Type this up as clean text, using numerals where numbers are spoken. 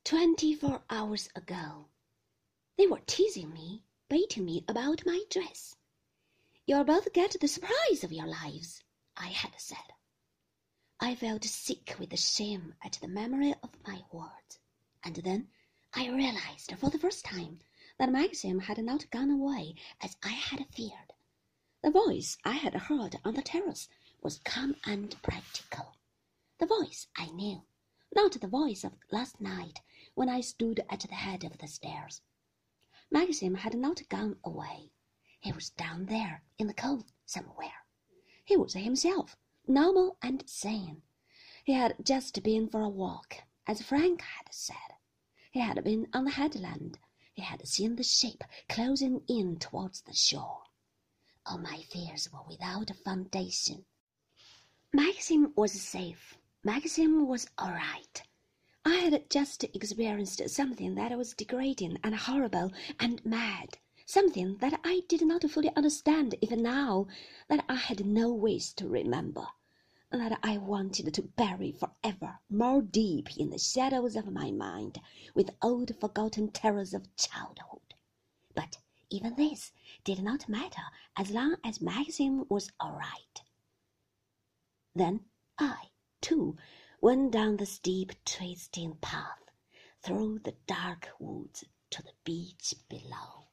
24 hours ago. They were teasing me, baiting me about my dress. You'll both get the surprise of your lives, I had said. I felt sick with shame at the memory of my words, and then I realized for the first time that Maxim had not gone away as I had feared. The voice I had heard on the terrace was calm and practical. The voice I knew, not the voice of last night when I stood at the head of the stairs. Maxim had not gone away. He was down there in the cove somewhere. He was himself, normal and sane. He had just been for a walk, as Frank had said. He had been on the headland. He had seen the ship closing in towards the shore. All my fears were without foundation. Maxim was safe. Maxim was all right. I had just experienced something that was degrading and horrible and mad, something that I did not fully understand even now, that I had no wish to remember, that I wanted to bury forever more deep in the shadows of my mind with old forgotten terrors of childhood. But even this did not matter as long as Maxim was all right. Then I, too, went down the steep, twisting path through the dark woods to the beach below.